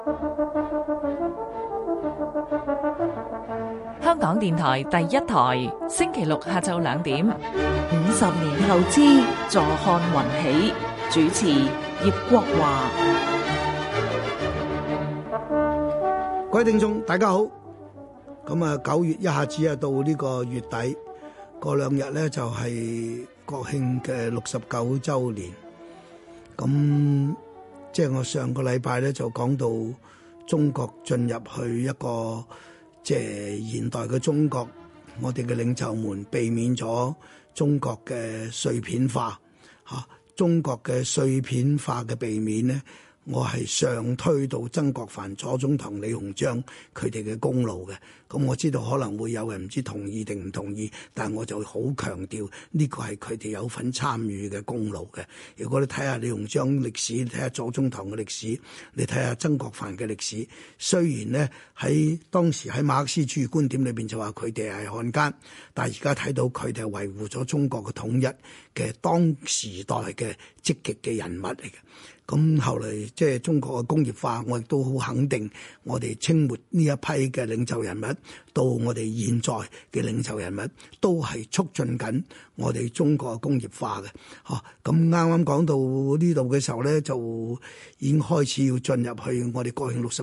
香港電台第一台，星期六下晝2點。 50年後之坐看雲起，主持葉國華。 各位聽眾大家好。咁啊，9月一下子啊到呢個月底，過2日咧就係國慶嘅69週年。咁即係我上個禮拜咧就講到中國進入去一個即係現代嘅中國，我哋嘅領袖們避免咗中國嘅碎片化嚇，中國嘅碎片化嘅避免咧，我係上推到曾國藩、左宗棠、李鴻章佢哋嘅功勞嘅。咁我知道可能會有人唔知同意定唔同意，但係我就好強調呢個係佢哋有份參與嘅功勞嘅。如果你睇下李鴻章歷史，你睇下左宗棠嘅歷史，你睇下曾國藩嘅歷史，雖然呢喺當時喺馬克思主義觀點裏邊就話佢哋係漢奸，但係而家睇到佢哋係維護咗中國嘅統一嘅當時代嘅積極嘅人物嚟嘅。咁後嚟即係中國嘅工業化，我亦都好肯定，我哋清末呢一批嘅領袖人物，到我哋現在嘅領袖人物，都係促進緊我哋中國嘅工業化嘅。嚇，咁啱啱講到呢度嘅時候咧，就已經開始要進入去我哋國慶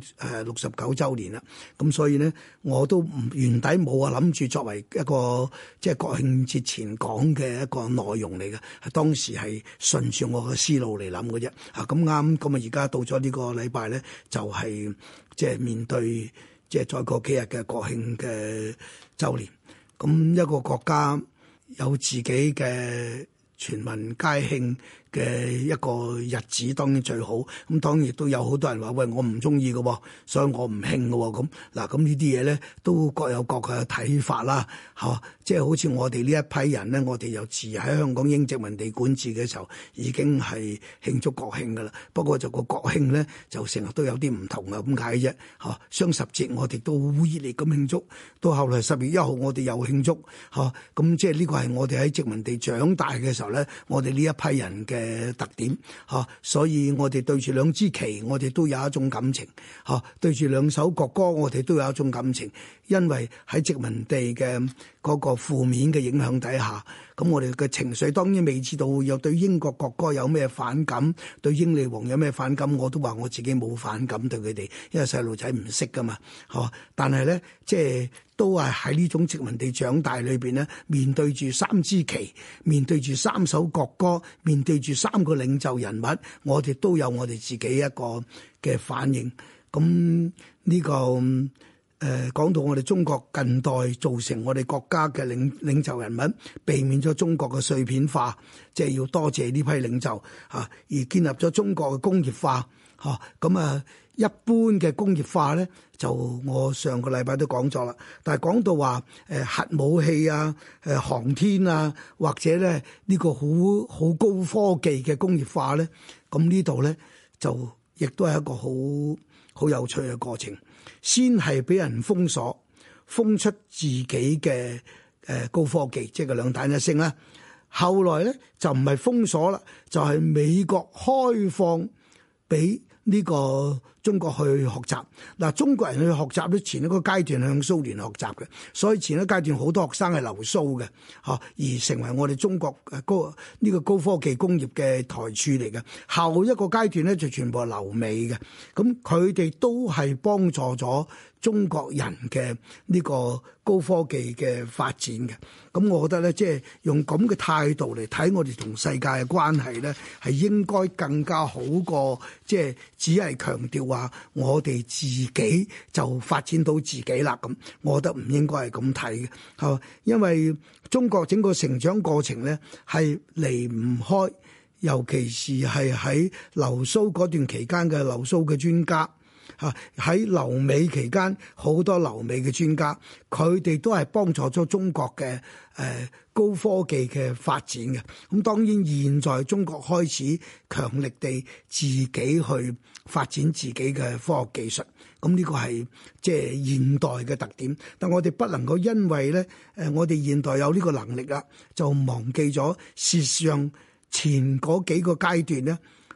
69週年啦。咁所以咧，我都原底冇話諗住作為一個即係國慶節前講嘅一個內容嚟嘅，當時係順住我嘅思路嚟諗嘅啫。咁啱，咁啊而家到咗呢個禮拜咧，就係即係面對即係再過幾日嘅國慶嘅週年。咁一個國家有自己嘅全民皆慶嘅一個日子當然最好，咁當然亦都有好多人話喂，我唔中意嘅，所以我唔慶嘅。咁嗱，咁呢啲嘢咧都各有各嘅睇法啦，嚇，即係好似我哋呢一批人咧，我哋又自喺香港英殖民地管治嘅時候已經係慶祝國慶㗎啦。不過就個國慶咧就成日都有啲唔同啊，咁解啫，嚇。雙十節我哋都好熱烈咁慶祝，到後來10月1號我哋又慶祝，嚇。咁即係呢個係我哋喺殖民地長大嘅時候咧，我哋呢一批人嘅特點嚇，所以我哋對住兩支旗，我哋都有一種感情嚇；對住兩首國歌，我哋都有一種感情。因為喺殖民地嘅嗰個負面嘅影響底下，咁我哋嘅情緒當然未知道有對英國國歌有咩反感，對英女王有咩反感，我都話我自己冇反感對佢哋，因為細路仔唔識噶嘛，嚇。但係咧，即係都係喺呢種殖民地長大裏邊咧，面對住3支旗，面對住3首國歌，面對住3個領袖人物，我哋都有我哋自己一個嘅反應。咁呢個講到我哋中國近代造成我哋國家嘅領袖人物，避免咗中國嘅碎片化，即係要多謝呢批領袖嚇，而建立咗中國嘅工業化嚇。咁啊，一般嘅工業化咧，就我上個禮拜都講咗啦。但係講到話核武器啊、航天啊，或者咧呢個好高科技嘅工業化咧，咁呢度咧就亦都係一個好有趣嘅過程。先係俾人封鎖，封出自己嘅高科技，即係個兩彈一星啦。後來咧就唔係封鎖啦，就係美國開放俾呢個中國去學習。嗱，中國人去學習咧，前一個階段向蘇聯學習嘅，所以前一個階段好多學生係留蘇嘅，嚇，而成為我哋中國呢個高科技工業嘅台柱嚟嘅。後一個階段咧就全部係留美嘅，咁佢哋都係幫助咗中國人嘅呢個高科技嘅發展嘅。咁我覺得咧，即係用咁嘅態度嚟睇我哋同世界嘅關係咧，係應該更加好過即係只係強調話我哋自己就發展到自己啦。咁我覺得唔應該係咁睇嘅，係因為中國整個成長過程咧係離唔開，尤其是係喺留蘇嗰段期間嘅留蘇嘅專家。喺留美期間，好多留美嘅專家，佢哋都係幫助咗中國嘅高科技嘅發展嘅。咁當然現在中國開始強力地自己去發展自己嘅科學技術，咁呢個係即係現代嘅特點。但我哋不能夠因為咧我哋現代有呢個能力啦，就忘記咗事實上前嗰幾個階段咧。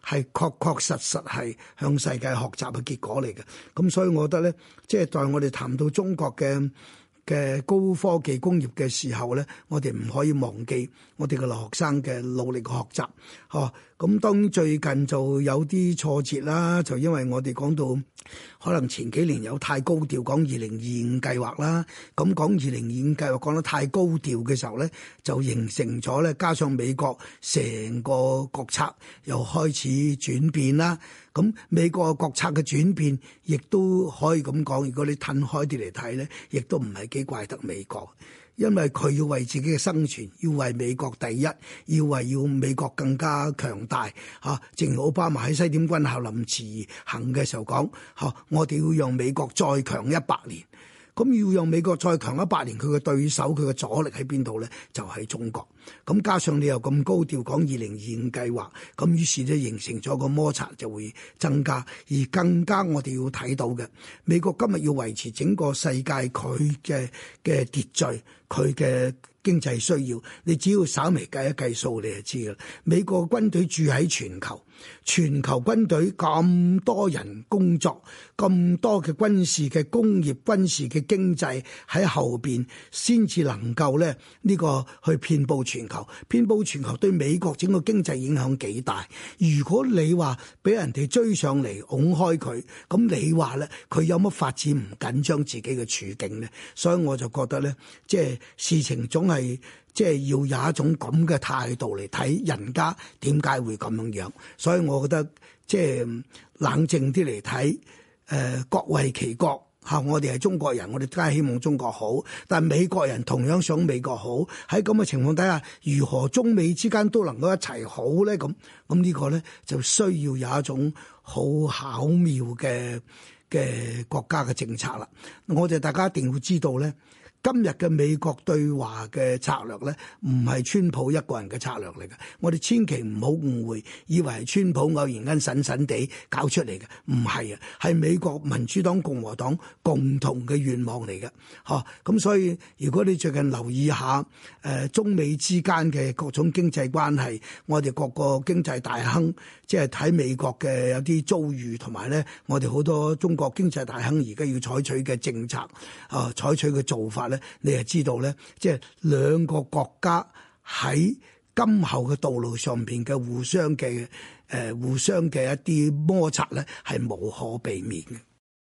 係確確實實係向世界學習嘅結果嚟嘅。咁所以我覺得咧，即係在我哋談到中國嘅高科技工業嘅時候咧，我哋唔可以忘記我哋嘅留學生嘅努力嘅學習。咁當然最近就有啲挫折啦，就因為我哋講到可能前幾年有太高調講2025計劃啦，咁講2025計劃講得太高調嘅時候咧，就形成咗咧，加上美國成個國策又開始轉變啦。咁美國嘅國策嘅轉變，亦都可以咁講，如果你褪開啲嚟睇咧，亦都唔係幾怪得美國。因為佢要為自己嘅生存，要為美國第一，要美國更加強大嚇。正如奧巴馬喺西點軍校臨辭行嘅時候講嚇，我哋要讓美國再強100年。咁要讓美國再強100年，佢嘅對手，佢嘅阻力喺邊度咧？就係中國。咁加上你又咁高調講2025計劃，咁於是咧形成咗個摩擦就會增加。而更加我哋要睇到嘅，美國今日要維持整個世界佢嘅秩序，佢嘅經濟需要，你只要稍微計一計數，你就知㗎啦。美國軍隊駐喺全球，全球軍隊咁多人工作，咁多嘅軍事嘅工業、軍事嘅經濟喺後邊，先至能夠咧呢個去遍佈全球。遍佈全球對美國整個經濟影響幾大。如果你話俾人哋追上嚟，拱開佢，咁你話咧佢有乜發展唔緊張自己嘅處境咧？所以我就覺得咧，即係事情總係即係要有一種咁嘅態度嚟睇人家點解會咁樣。所以我覺得即係冷靜啲嚟睇，各為其國嚇。我哋係中國人，我哋梗係希望中國好，但係美國人同樣想美國好。喺咁嘅情況底下，如何中美之間都能夠一齊好咧？咁呢個咧就需要有一種好巧妙嘅國家嘅政策啦。我哋大家一定要知道咧。今日嘅美國對華嘅策略咧，唔係川普一個人嘅策略嚟嘅。我哋千祈唔好誤會，以為係川普偶然間神神地搞出嚟嘅，唔係啊，係美國民主黨、共和黨共同嘅願望嚟嘅。咁所以如果你最近留意下中美之間嘅各種經濟關係，我哋各個經濟大亨即係睇美國嘅有啲遭遇，同埋咧我哋好多中國經濟大亨而家要採取嘅政策採取嘅做法。你係知道咧，即係兩個國家喺今後嘅道路上邊嘅互相嘅一啲摩擦咧，係無可避免嘅。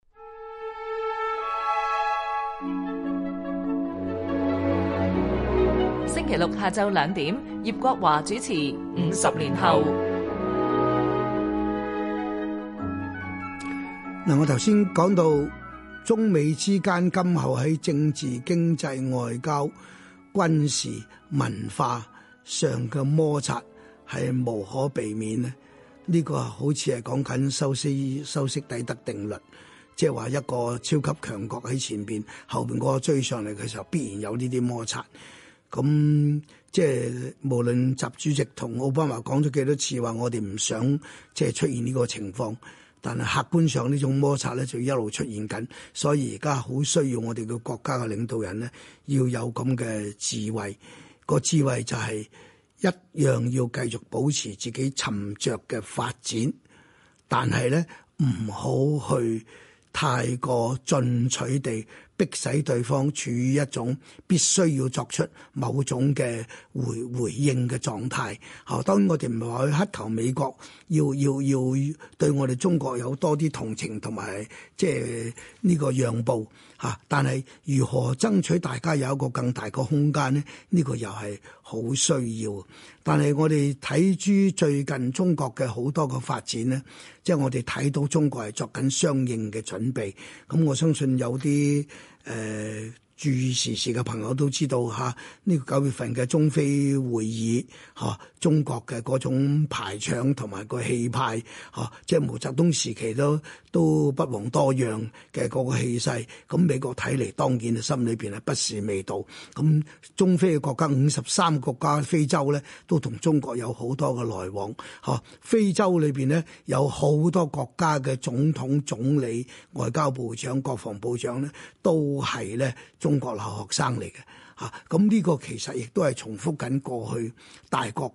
星期六下晝2點，葉國華主持《50年後》。 嗱，我頭先講到。中美之間今後喺政治、經濟、外交、軍事、文化上嘅摩擦係無可避免咧。呢個好似係講緊修昔底德定律，即係話一個超級強國喺前邊，後邊嗰個追上嚟嘅時候，必然有呢啲摩擦。咁即係無論習主席同奧巴馬講咗幾多次話，我哋唔想即係出現呢個情況。但係客觀上呢種摩擦咧就一路出現緊，所以而家好需要我哋嘅國家嘅領導人咧要有咁嘅智慧。個智慧就係一樣要繼續保持自己沉着嘅發展，但係咧唔好去太過進取地逼使對方處於一種必須要作出某種嘅回應嘅狀態。當然我哋唔係話去乞求美國要對我哋中國有多啲同情同埋即係呢個讓步嚇，但係如何爭取大家有一個更大嘅空間呢？呢個又係好需要。但係我哋睇住最近中國嘅好多個發展呢，即係我哋睇到中國係作緊相應嘅準備。咁我相信有啲注意時事嘅朋友都知道嚇，呢個9月份嘅中非會議嚇，中國嘅嗰種排場同埋個氣派嚇，即係毛澤東時期都不遑多讓嘅嗰個氣勢。咁美國睇嚟當然心裏邊係不是味道。咁中非嘅國家53個國家，非洲咧都同中國有好多嘅來往嚇。非洲裏邊咧有好多國家嘅總統、總理、外交部長、國防部長咧都係咧中國留學生嚟嘅嚇。咁呢個其實亦都係重複緊過去大國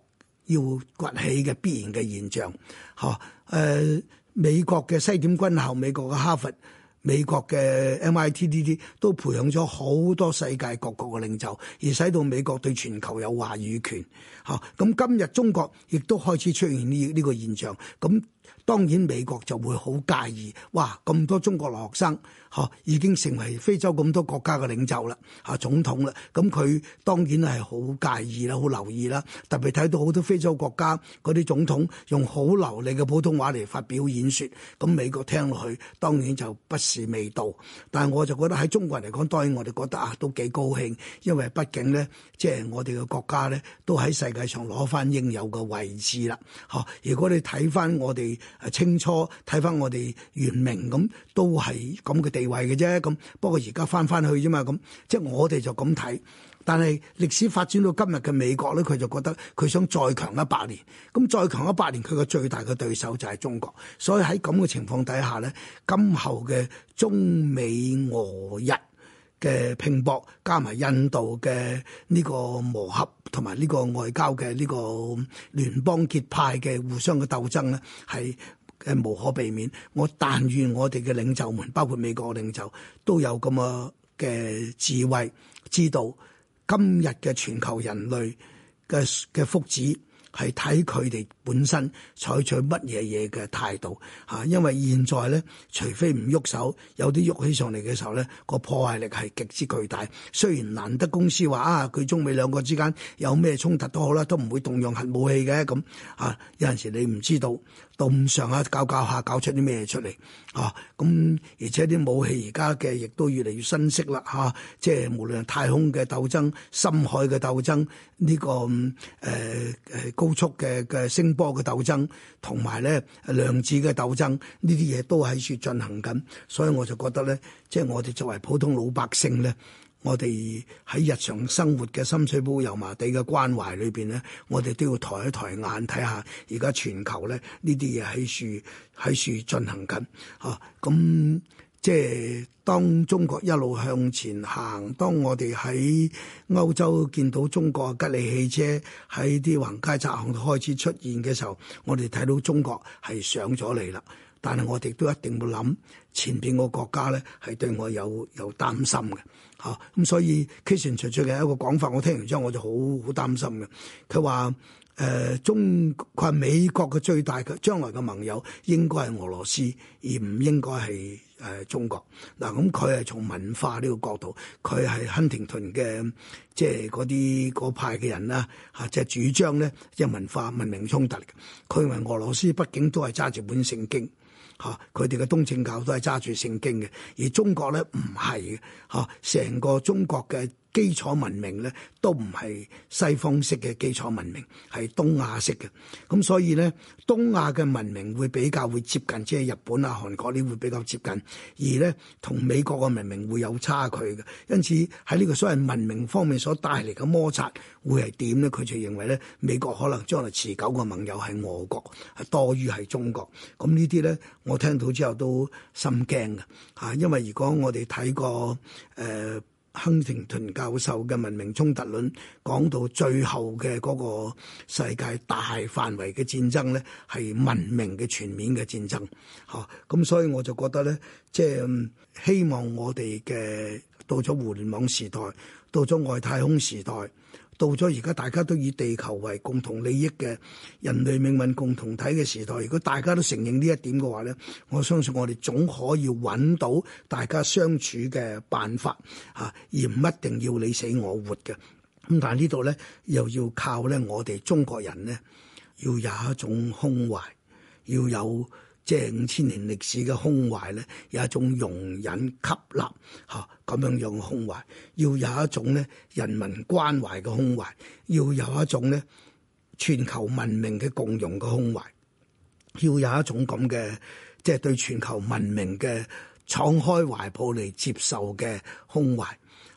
要崛起嘅必然嘅現象。美國嘅西點軍校、美國嘅哈佛、美國嘅 MIT 呢啲都培養咗好多世界各國嘅領袖，而使到美國對全球有話語權。咁今日中國亦都開始出現呢個現象。咁當然美國就會好介意，哇！咁多中國留學生已經成為非洲咁多國家嘅領袖啦，總統啦，咁佢當然係好介意啦，好留意啦。特別睇到好多非洲國家嗰啲總統用好流利嘅普通話嚟發表演說，咁美國聽落去當然就不是味道。但係我就覺得喺中國人嚟講，當然我哋覺得都幾高興，因為畢竟咧，即係我哋嘅國家咧都喺世界上攞翻應有嘅位置啦。如果你睇翻我哋清初，睇翻我哋元明咁，都係咁嘅地位嘅啫。咁不過而家翻去啫嘛，咁即係我哋就咁睇。但係歷史發展到今日嘅美國咧，佢就覺得佢想再強100年。咁再強100年，佢個最大嘅對手就係中國。所以喺咁嘅情況底下咧，今後嘅中美俄日嘅拼搏，加埋印度嘅呢個磨合，同埋呢個外交嘅呢個聯邦結派嘅互相嘅鬥爭咧，係無可避免。我但願我哋嘅領袖們，包括美國嘅領袖，都有咁嘅智慧，知道今日嘅全球人類嘅福祉係睇佢哋本身採取乜嘢嘅態度嚇。因為現在咧，除非唔喐手，有啲喐起上嚟嘅時候咧，個破壞力係極之巨大。雖然蘭德公司話佢中美兩個之間有咩衝突都好啦，都唔會動用核武器嘅。咁有陣時你唔知道到咁上下搞下搞出啲咩出嚟咁，而且啲武器而家嘅亦都越嚟越新式啦即係無論係太空嘅鬥爭、深海嘅鬥爭，呢個高速嘅聲波嘅鬥爭，同埋咧量子嘅鬥爭，呢啲嘢都喺處進行緊。所以我就覺得咧，即係我哋作為普通老百姓咧，我哋喺日常生活嘅深水埗油麻地嘅關懷裏邊咧，我哋都要抬一抬眼睇下，而家全球咧呢啲嘢喺處進行緊咁即係當中國一路向前行，當我哋喺歐洲見到中國吉利汽車喺啲橫街窄巷開始出現嘅時候，我哋睇到中國係上咗嚟啦。但係我哋都一定會諗前邊個國家咧係對我有擔心嘅咁所以 Kissinger 最近有一個講法，我聽完之後我就好擔心嘅。佢話佢話美國嘅最大嘅將來嘅盟友應該係俄羅斯，而唔應該係中國。嗱，咁佢係從文化呢個角度，佢係亨廷頓嘅即係嗰派嘅人啦即係主張咧即係文化文明衝突嚟嘅。佢認為俄羅斯畢竟都係揸住本聖經佢哋嘅東正教都係揸住聖經嘅，而中國咧唔係嘅成個中國嘅基礎文明咧都唔係西方式嘅基礎文明，係東亞式嘅。咁所以咧，東亞嘅文明會比較會接近，即係日本啊、韓國呢會比較接近，而咧同美國嘅文明會有差距嘅。因此喺呢個所謂文明方面所帶嚟嘅摩擦會係點咧？佢就認為咧，美國可能將來持久嘅盟友係俄國，係多於係中國。咁呢啲咧，我聽到之後都心驚嘅因為如果我哋睇過亨廷頓教授嘅文明衝突論，講到最後嘅嗰個世界大範圍嘅戰爭咧，係文明嘅全面嘅戰爭咁所以我就覺得咧，即係希望我哋嘅到咗互聯網時代，到咗外太空時代，到咗而家大家都以地球為共同利益嘅人類命運共同體嘅時代，如果大家都承認呢一點嘅話咧，我相信我哋總可以揾到大家相處嘅辦法而唔一定要你死我活嘅。咁但係呢度咧又要靠咧我哋中國人咧要有一種胸懷，要有即係5000年歷史嘅胸懷咧，有一種容忍吸納咁樣樣嘅胸懷，要有一種咧人民關懷嘅胸懷，要有一種咧全球文明嘅共融嘅胸懷，要有一種咁嘅即係對全球文明嘅敞開懷抱嚟接受嘅胸懷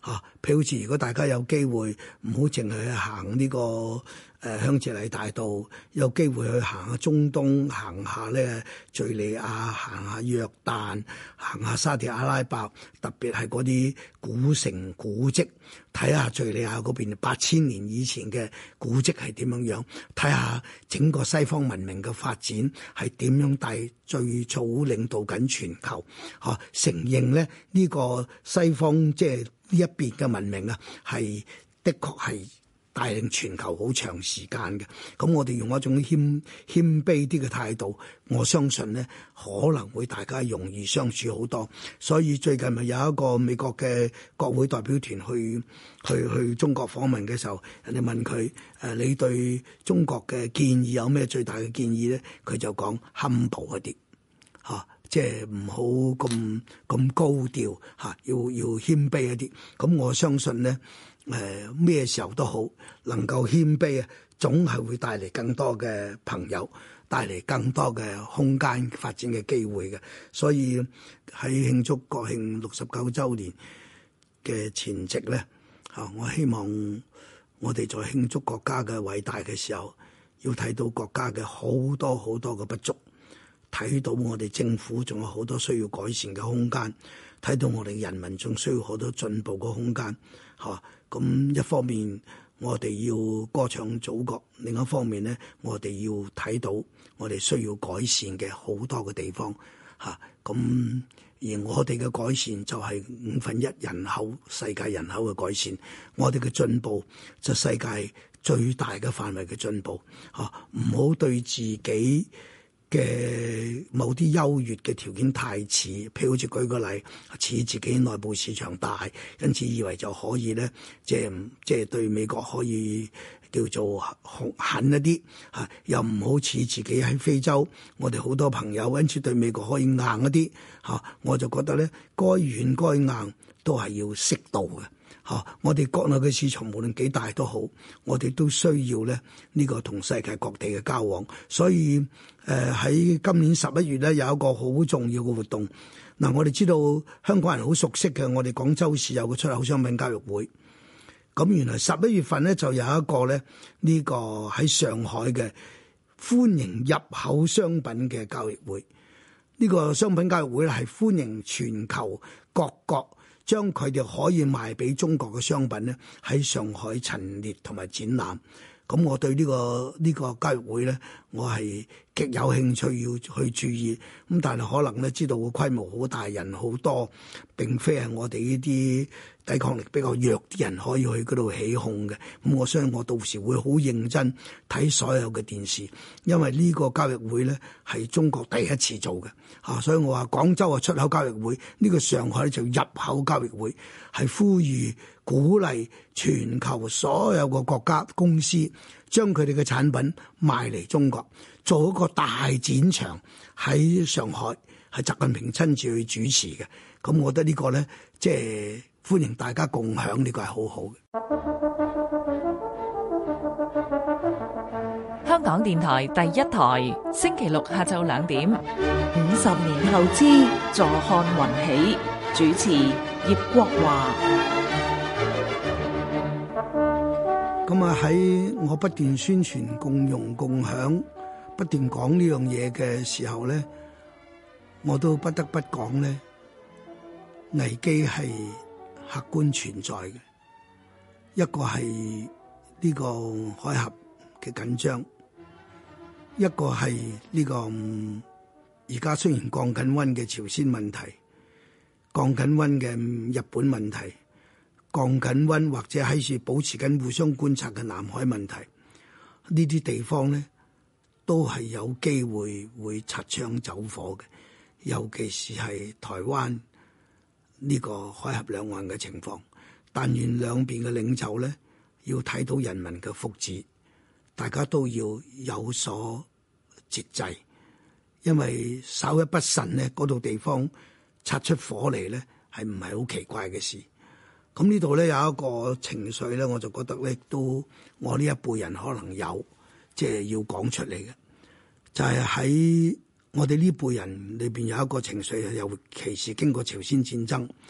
譬如好似如果大家有機會，唔好淨係去行呢個香榭麗大道，有機會去行下中東，行下咧敍利亞，行下約旦，行下沙特阿拉伯，特別係嗰啲古城古蹟，睇下敍利亞嗰邊8000年以前嘅古蹟係點樣樣，睇下整個西方文明嘅發展係點樣最早領導緊全球，承認咧呢個西方即係呢一邊嘅文明啊，係的確係帶領全球好長時間嘅。咁我哋用一種謙卑啲嘅態度，我相信咧可能會大家容易相處好多。所以最近咪有一個美國嘅國會代表團去中國訪問嘅時候，人哋問佢你對中國嘅建議有咩最大嘅建議咧？佢就講humble一啲即係唔好咁高調要謙卑一啲。咁我相信咧咩時候都好，能夠謙卑啊，總係會帶嚟更多嘅朋友，帶嚟更多嘅空間發展嘅機會嘅。所以喺慶祝國慶69週年嘅前夕咧，我希望我哋在慶祝國家嘅偉大嘅時候，要睇到國家嘅好多好多嘅不足，睇到我哋政府仲有好多需要改善嘅空間，睇到我哋人民仲需要好多進步嘅空間。咁一方面我哋要歌唱祖國，另一方面咧，我哋要睇到我哋需要改善嘅好多嘅地方。咁而我哋嘅改善就係1/5人口世界人口嘅改善，我哋嘅進步就世界最大嘅範圍嘅進步。唔好對自己嘅某啲優越嘅條件太似，譬如好似舉個例，似自己內部市場大，因此以為就可以咧，即係對美國可以叫做狠一啲嚇，又唔好似自己喺非洲，我哋好多朋友，因此對美國可以硬一啲嚇，我就覺得咧，該軟該硬都係要適度嘅。我哋國內嘅市場無論幾大都好，我哋都需要咧呢個同世界各地嘅交往。所以喺今年11月咧有一個好重要嘅活動。我哋知道香港人好熟悉嘅，我哋廣州市有個出口商品交易會。咁原來11月份咧就有一個咧呢個喺上海嘅歡迎入口商品嘅交易會。呢個商品交易會咧係歡迎全球各國將佢哋可以賣俾中國嘅商品咧喺上海陳列同埋展覽。咁我對呢個交易會咧，我係極有興趣要去注意。咁但係可能咧知道個規模好大，人好多，並非係我哋呢啲抵抗力比較弱啲人可以去嗰度起哄嘅。咁我相信我到時會好認真睇所有嘅電視，因為呢個交易會咧係中國第一次做嘅。所以我話廣州係出口交易會，呢個上海就入口交易會，係呼籲鼓勵全球所有個國家公司將佢哋嘅產品賣嚟中國，做一個大展場喺上海，係習近平親自去主持嘅。咁我覺得呢個咧，即係歡迎大家共享，呢個係好好嘅。 香港電台第一台，星期六下晝2點。 50年後之坐看雲起，主持葉國華。 咁喺我不斷宣傳共融共享，不斷講呢樣嘢嘅時候咧，我都不得不講咧，危機係客觀存在嘅。一個係呢個海峽嘅緊張，一個係呢個而家雖然降緊溫嘅朝鮮問題，降緊溫嘅日本問題，降緊溫或者喺處保持緊互相觀察嘅南海問題，呢啲地方咧都係有機會擦槍走火嘅，尤其是係台灣呢個海峽兩岸嘅情況。但願兩邊嘅領袖咧要睇到人民嘅福祉，大家都要有所節制，因為稍一不慎咧，嗰度地方擦出火嚟咧，係唔係好奇怪嘅事？咁呢度咧有一個情緒咧，我就覺得咧都我呢一輩人可能有，即係要講出嚟嘅，就係喺我哋呢輩人裏邊有一個情緒，尤其是經過朝鮮戰爭，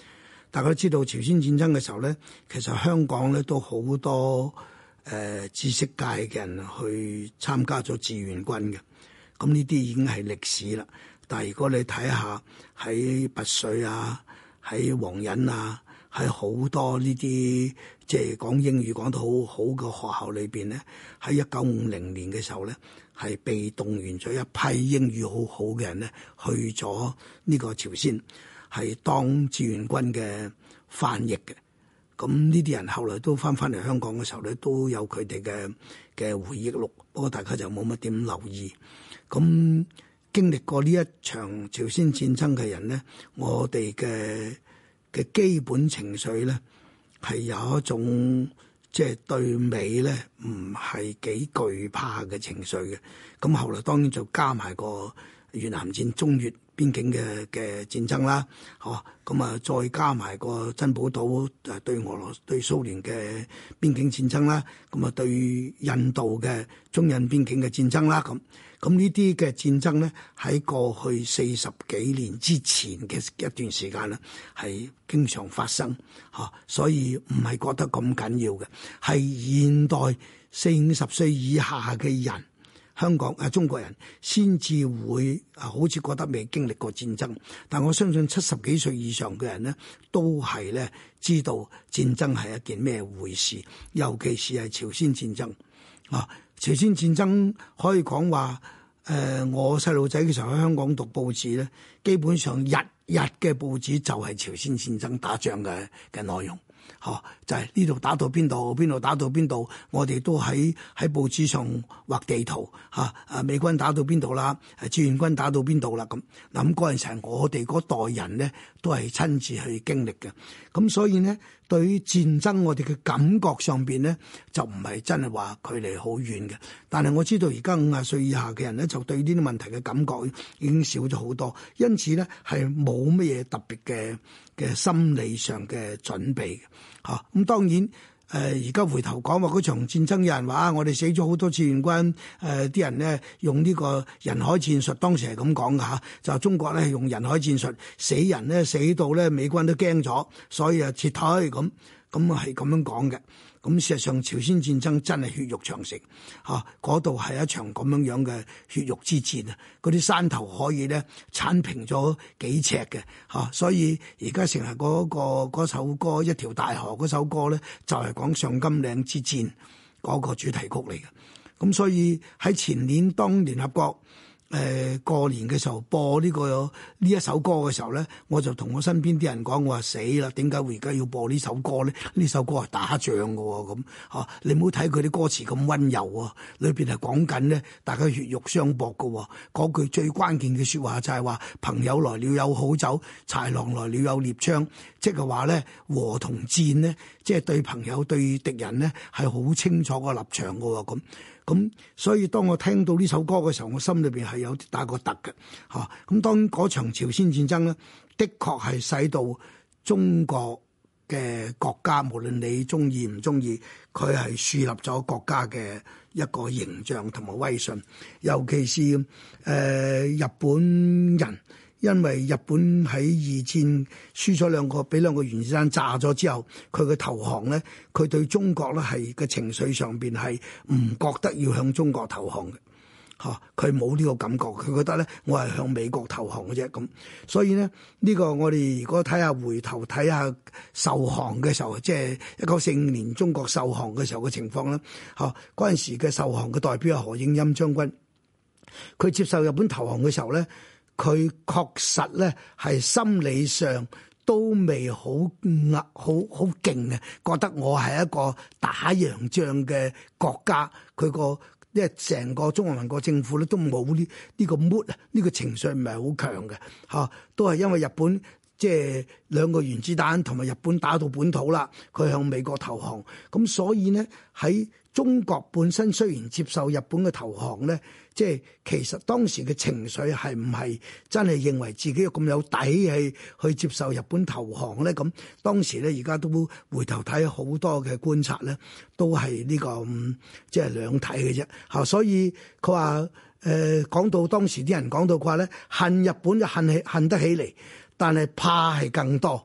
大家都知道朝鮮戰爭嘅時候咧，其實香港咧都好多知識界嘅人去參加咗志願軍嘅。咁呢啲已經係歷史啦。但係如果你睇下喺拔萃啊、喺皇仁啊、喺好多呢啲即係講英語講得好好嘅學校裏邊咧，喺1950年嘅時候咧，係被動員咗一批英語好好嘅人咧，去咗呢個朝鮮，係當志願軍嘅翻譯嘅。咁呢啲人後來都翻嚟香港嘅時候咧，都有佢哋嘅回憶錄，不過大家就冇乜點留意。咁經歷過呢一場朝鮮戰爭嘅人咧，我哋嘅基本情緒咧係有一種即係對美咧唔係幾懼怕嘅情緒嘅。咁後來當然就加埋個越南戰、中越邊境嘅戰爭啦，咁啊再加埋個珍寶島對對蘇聯嘅邊境戰爭啦，咁啊對印度嘅中印邊境嘅戰爭啦，咁呢啲嘅戰爭咧喺過去40幾年之前嘅一段時間咧係經常發生，所以唔係覺得咁緊要嘅，係現代40-50歲以下嘅人。香港中國人先至會好似覺得未經歷過戰爭，但我相信70幾歲以上嘅人呢，都係咧知道戰爭係一件咩回事，尤其是係朝鮮戰爭啊！朝鮮戰爭可以講話我細路仔嘅時候喺香港讀報紙咧，基本上日日嘅報紙就係朝鮮戰爭打仗嘅內容。就係呢度打到邊度，邊度打到邊度，我哋都喺報紙上畫地圖美軍打到邊度啦，志願軍打到邊度啦咁。嗱，咁嗰陣時係我哋嗰代人咧，都係親自去經歷嘅。咁所以呢，對於戰爭我哋嘅感覺上邊咧，就唔係真係話距離好遠嘅。但係我知道而家50歲以下嘅人咧，就對呢啲問題嘅感覺已經少咗好多，因此咧係冇乜嘢特別嘅心理上嘅準備嘅。咁當然而家回頭講話嗰場戰爭，有人話我哋死咗好多志願軍，啲人呢用呢個人海戰術，當時係咁講㗎，就中國咧用人海戰術，死人呢死到咧美軍都驚咗，所以撤退咁係咁樣講嘅。咁事實上朝鮮戰爭真係血肉長城，嗰度係一場咁樣嘅血肉之戰啊！嗰啲山頭可以咧剷平咗幾尺嘅，所以而家成日嗰首歌一條大河嗰首歌咧，就係講上甘嶺之戰嗰個主題曲嚟嘅。咁所以喺前年當聯合國過年嘅時候播呢一首歌嘅時候咧，我就同我身邊啲人講，我話死啦，點解會而家要播呢首歌咧？呢首歌係打仗㗎喎，咁你唔好睇佢啲歌詞咁溫柔啊，裏邊係講緊咧大家血肉相搏㗎喎。嗰句最關鍵嘅說話就係話，朋友來了有好酒，豺狼來了有獵槍，即係話咧和同戰咧，即係對朋友對敵人咧係好清楚個立場㗎喎。咁所以當我聽到呢首歌嘅時候，我心裏邊係有啲打個突嘅。咁當嗰場朝鮮戰爭咧，的確係使到中國嘅國家，無論你中意唔中意，佢係樹立咗國家嘅一個形象同埋威信。尤其是日本人，因為日本喺二戰輸咗俾兩個原子彈炸咗之後，佢嘅投降咧，佢對中國咧係嘅情緒上邊係唔覺得要向中國投降嘅。佢冇呢個感覺，佢覺得咧我係向美國投降嘅啫咁。所以呢，呢個我哋如果回頭睇下受降嘅時候，即係1945年中國受降嘅時候嘅情況啦。嗰陣時嘅受降嘅代表係何應欽將軍，佢接受日本投降嘅時候咧，佢確實咧係心理上都未好勁嘅，覺得我係一個打洋仗嘅國家，因為成個中華民國政府咧都冇呢個 mood 啊，呢個情緒唔係好強嘅，都係因為日本即係兩個原子彈同埋日本打到本土啦，佢向美國投降，咁所以呢，喺中國本身雖然接受日本嘅投降咧，即係其實當時嘅情緒係唔係真係認為自己咁有底氣去接受日本投降咧？咁當時咧，而家都回頭睇好多嘅觀察咧，都係呢個即係兩睇嘅啫。所以佢話講到當時啲人講到話咧，恨日本就恨得起嚟，但係怕係更多。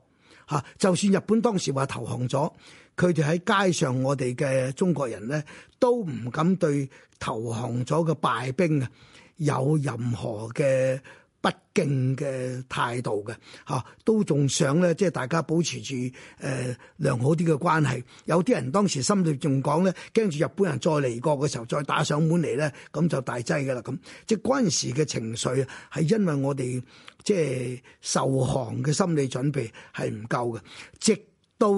嚇。就算日本當時話投降咗，佢哋喺街上，我哋嘅中國人咧都唔敢對投降咗嘅敗兵啊有任何嘅不敬嘅態度嘅嚇，都仲想咧，即係大家保持住良好啲嘅關係。有啲人當時心裏仲講咧，驚住日本人再嚟過嘅時候再打上門嚟咧，咁就大劑㗎啦咁。即係嗰陣時嘅情緒係因為我哋即係受降嘅心理準備係唔夠嘅，直到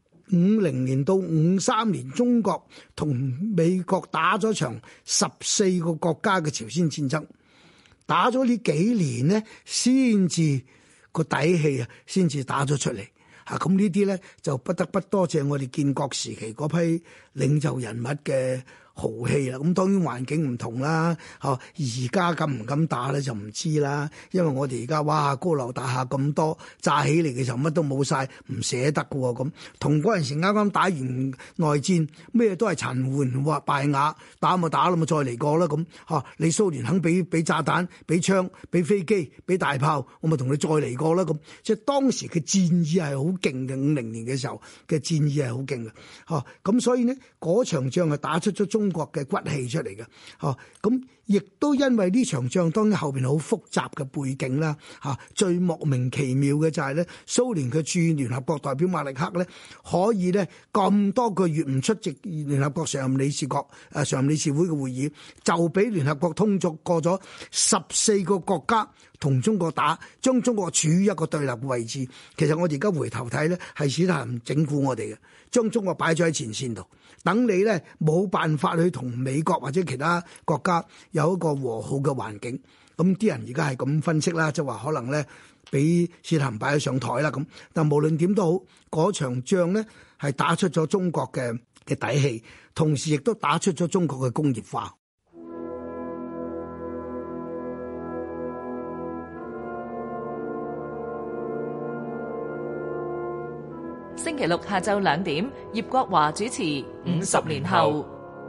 50年到53年，中國同美國打咗場14個國家嘅朝鮮戰爭。打咗呢幾年呢，先至個底氣啊，先至打咗出嚟嚇。咁呢啲咧就不得不多謝我哋建國時期嗰批領袖人物嘅豪氣啦。咁當然環境唔同啦，嚇而家敢唔敢打咧就唔知啦。因為我哋而家哇高樓大廈咁多，炸起嚟嘅時候乜都冇晒，唔捨得嘅喎。咁同嗰陣時啱啱打完內戰，咩都係殘垣敗瓦，打咪打啦，咪再嚟過啦咁嚇。你蘇聯肯俾炸彈、俾槍、俾飛機、俾大炮，我咪同你再嚟過啦咁。即係當時嘅戰意係好勁嘅，50年嘅時候嘅戰意係好勁嘅嚇。咁所以呢，嗰場仗係打出咗中國嘅骨氣出嚟嘅嚇。咁亦都因為呢場仗，當然後邊好複雜嘅背景啦嚇。最莫名其妙嘅就係咧，蘇聯嘅駐聯合國代表馬利克咧，可以咧咁多個月唔出席聯合國常任理事會嘅會議，就俾聯合國通過咗14個國家同中國打，將中國處於一個對立嘅位置。其實我哋而家回頭睇咧，係史太林整蠱我哋嘅，將中國擺咗喺前線度，等你咧冇辦法去同美國或者其他國家有一個和好嘅環境。咁啲人而家係咁分析啦，就話可能咧俾史太林擺咗上台啦咁。但無論點都好，嗰場仗咧係打出咗中國嘅底氣，同時亦都打出咗中國嘅工業化。 星期六下晝2點，葉國華主持《50年後》。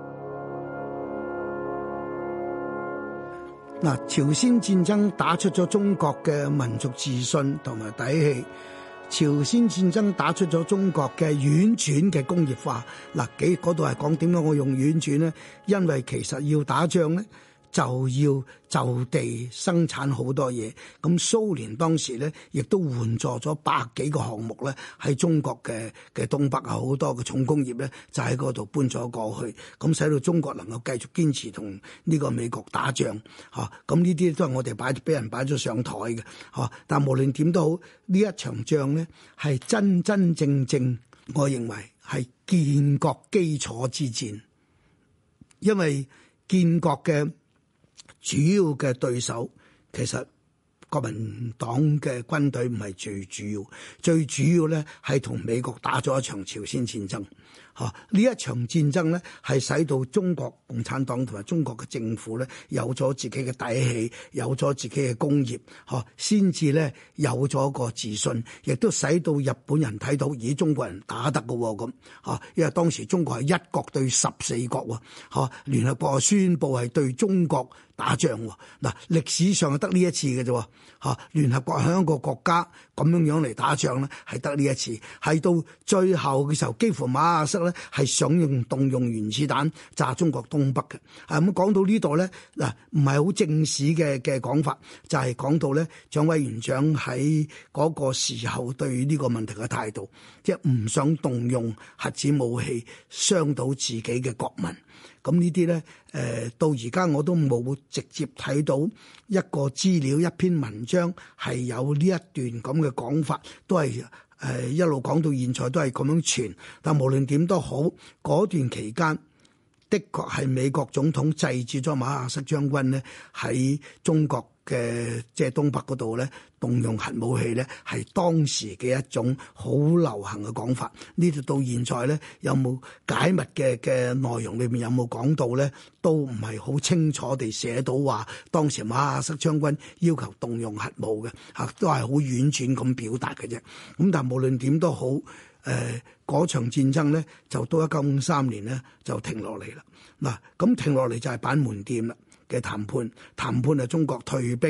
嗱，朝鮮戰爭打出咗中國嘅民族自信同埋底氣，朝鮮戰爭打出咗中國嘅婉轉嘅工業化。嗱，嗰度係講點解我用婉轉呢？因為其實要打仗呢，就要就地生產好多嘢。咁蘇聯當時咧，亦都援助咗100幾個項目咧，喺中國嘅東北啊，好多嘅重工業咧，就喺嗰度搬咗過去，咁使到中國能夠繼續堅持同呢個美國打仗嚇。咁呢啲都係我哋俾人擺咗上台嘅嚇。但無論點都好，呢一場仗咧係真真正正，我認為係建國基礎之戰，因為建國嘅主要嘅對手其實國民黨嘅軍隊唔係最主要，最主要咧係同美國打咗一場朝鮮戰爭。呢一場戰爭咧係使到中國共產黨同埋中國嘅政府咧有咗自己嘅底氣，有咗自己嘅工業，先至咧有咗個自信，亦都使到日本人睇到，咦，中國人打得嘅喎咁，因為當時中國係1國對14國喎，聯合國宣布係對中國打仗喎。嗱，歷史上係得呢一次嘅啫，聯合國喺一個國家咁樣嚟打仗咧，係得呢一次，係到最後嘅時候，幾乎馬亞瑟咧係想動用原子彈炸中國東北嘅。咁講到呢度咧，嗱，唔係好正史嘅講法，就係講到咧蔣委員長喺嗰個時候對呢個問題嘅態度，即係唔想動用核子武器傷到自己嘅國民。咁呢啲咧，到而家我都冇直接睇到一個資料、一篇文章係有呢一段咁嘅講法，都係一路講到現在都係咁樣傳。但無論點都好，嗰段期間的確係美國總統制止咗馬亞瑟將軍呢喺中國嘅即係東北嗰度咧動用核武器咧，係當時嘅一種好流行嘅講法。呢度到現在咧有冇解密嘅內容裏面有冇講到咧，都唔係好清楚地寫到話當時馬亞瑟將軍要求動用核武嘅，都係好婉轉咁表達嘅啫。咁但係無論點都好，嗰場戰爭咧就到1953年咧就停落嚟啦。嗱，咁停落嚟就係板門店啦嘅談判係中國退兵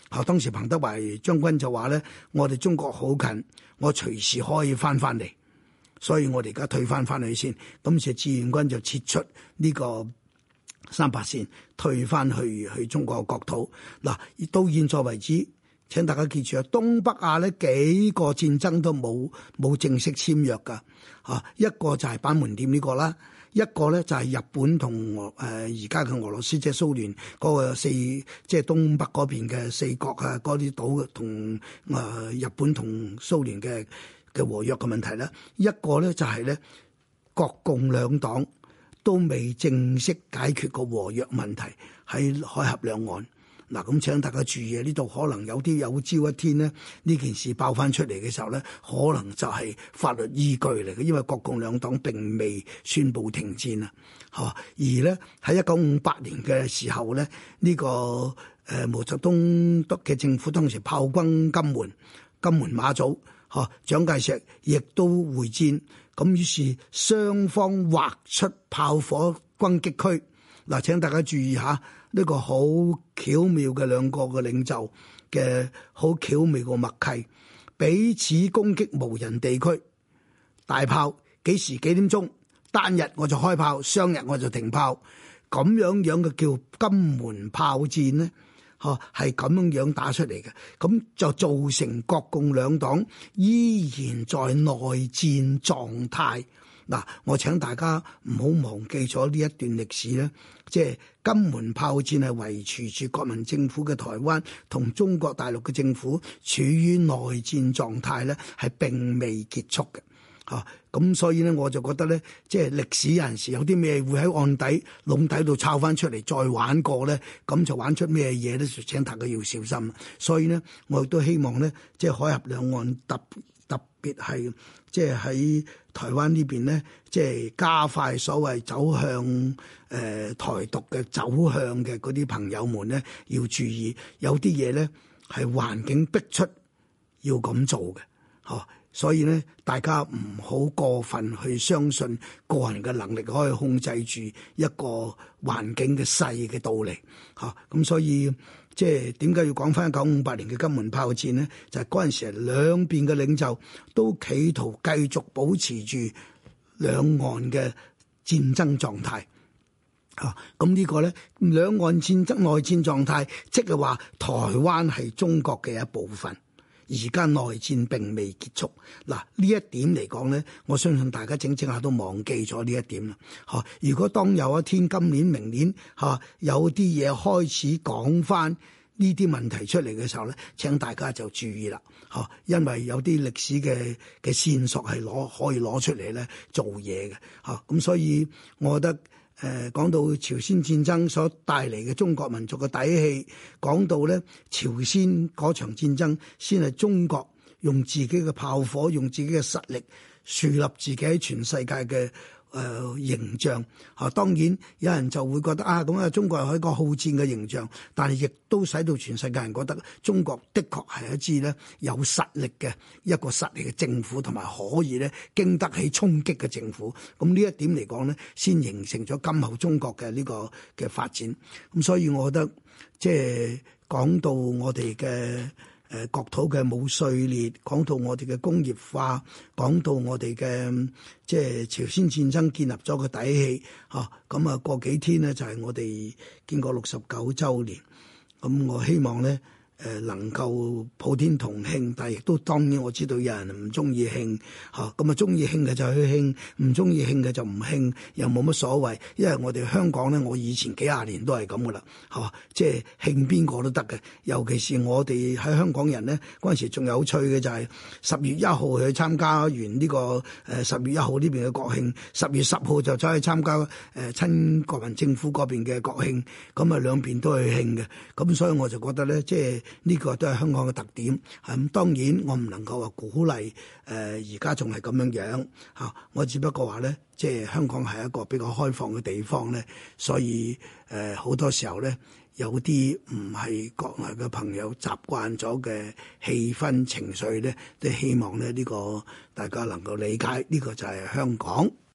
當時彭德懷將軍就話咧，我哋中國好近，我隨時可以翻嚟，所以我哋而家退翻去先。咁就志願軍就撤出呢個3八線，退翻去中國嘅國土。嗱，到現在為止，請大家記住啊，東北亞呢幾個戰爭都冇正式簽約㗎，一個就係板門店呢個啦。一個咧就係日本同而家嘅俄羅斯，即係蘇聯嗰個即係東北嗰邊嘅4國啊，嗰啲島同日本同蘇聯嘅和約嘅問題啦。一個咧就係咧國共兩黨都未正式解決個和約問題喺海峽兩岸。嗱，咁請大家注意啊！呢度可能有啲有朝一天呢，呢件事爆翻出嚟嘅時候咧，可能就係法律依據嚟嘅，因為國共兩黨並未宣布停戰啊，而咧喺1958年嘅時候咧，呢個毛澤東嘅政府當時炮轟金門馬祖，蔣介石亦都會戰，咁於是雙方劃出炮火攻擊區。嗱，請大家注意下呢個好巧妙嘅兩個嘅領袖嘅好巧妙嘅默契，彼此攻擊無人地區，大炮幾時幾點鐘，單日我就開炮，雙日我就停炮，咁樣嘅叫金門炮戰呢，係咁樣打出嚟嘅，咁就造成國共兩黨依然在內戰狀態。嗱，我請大家唔好忘記咗呢一段歷史咧，即係金門炮戰係維持住國民政府嘅台灣同中國大陸嘅政府處於內戰狀態咧，係並未結束嘅。咁所以咧，我就覺得咧，即係歷史有陣時有啲咩會喺案底籠底度抄翻出嚟再玩過咧，咁就玩出咩嘢咧？就請大家要小心。所以呢，我亦都希望咧，即係海峽兩岸特別係即係喺台灣呢邊咧，即係加快所謂走向台獨嘅走向嘅嗰啲朋友們咧，要注意有啲嘢咧係環境逼出要咁做嘅，所以咧，大家唔好過分去相信個人嘅能力可以控制住一個環境嘅勢嘅道理，咁所以即係點解要講翻1958年嘅金門炮戰呢？就係嗰陣時兩邊嘅領袖都企圖繼續保持住兩岸嘅戰爭狀態。咁呢個咧，兩岸戰爭內戰狀態，即係話台灣係中國嘅一部分。而家內戰並未結束，嗱呢一點嚟講咧，我相信大家整下都忘記咗呢一點啦。如果當有一天今年、明年有啲嘢開始講翻呢啲問題出嚟嘅時候咧，請大家就注意啦。因為有啲歷史嘅線索係可以攞出嚟咧做嘢嘅。咁所以我覺得。講到朝鮮戰爭所帶嚟嘅中國民族嘅底氣，講到咧朝鮮嗰場戰爭先係中國用自己嘅炮火，用自己嘅實力樹立自己喺全世界嘅形象。當然有人就會覺得咁中國係一個好戰嘅形象，但係亦都使到全世界人覺得中國的確係一支咧有實力嘅一個實力嘅政府，同埋可以咧經得起衝擊嘅政府。咁呢一點嚟講咧，先形成咗今後中國嘅呢個嘅發展。咁所以我覺得即係講到我哋嘅國土嘅冇碎裂，講到我哋嘅工業化，講到我哋嘅即係朝鮮戰爭建立咗個底氣，咁過幾天呢，就係我哋建國69週年，咁我希望咧能夠普天同慶，但係亦都當然我知道有人唔中意慶，咁中意慶嘅就去慶，唔中意慶嘅就唔慶，又冇乜所謂，因為我哋香港咧，我以前幾廿年都係咁噶啦，即係慶邊個都得嘅，尤其是我哋喺香港人咧，嗰陣時仲有趣嘅就係10月1號去參加完呢個10月1號呢邊嘅國慶，10月10號就走去參加親國民政府嗰邊嘅國慶，咁兩邊都去慶嘅，咁所以我就覺得咧，即係呢個都係香港嘅特點。咁當然我唔能夠話鼓勵而家仲係咁樣我只不過話咧，即係香港係一個比較開放嘅地方咧，所以好多時候咧，有啲唔係國內嘅朋友習慣咗嘅氣氛情緒咧，都希望咧呢個大家能夠理解，呢個就係香港。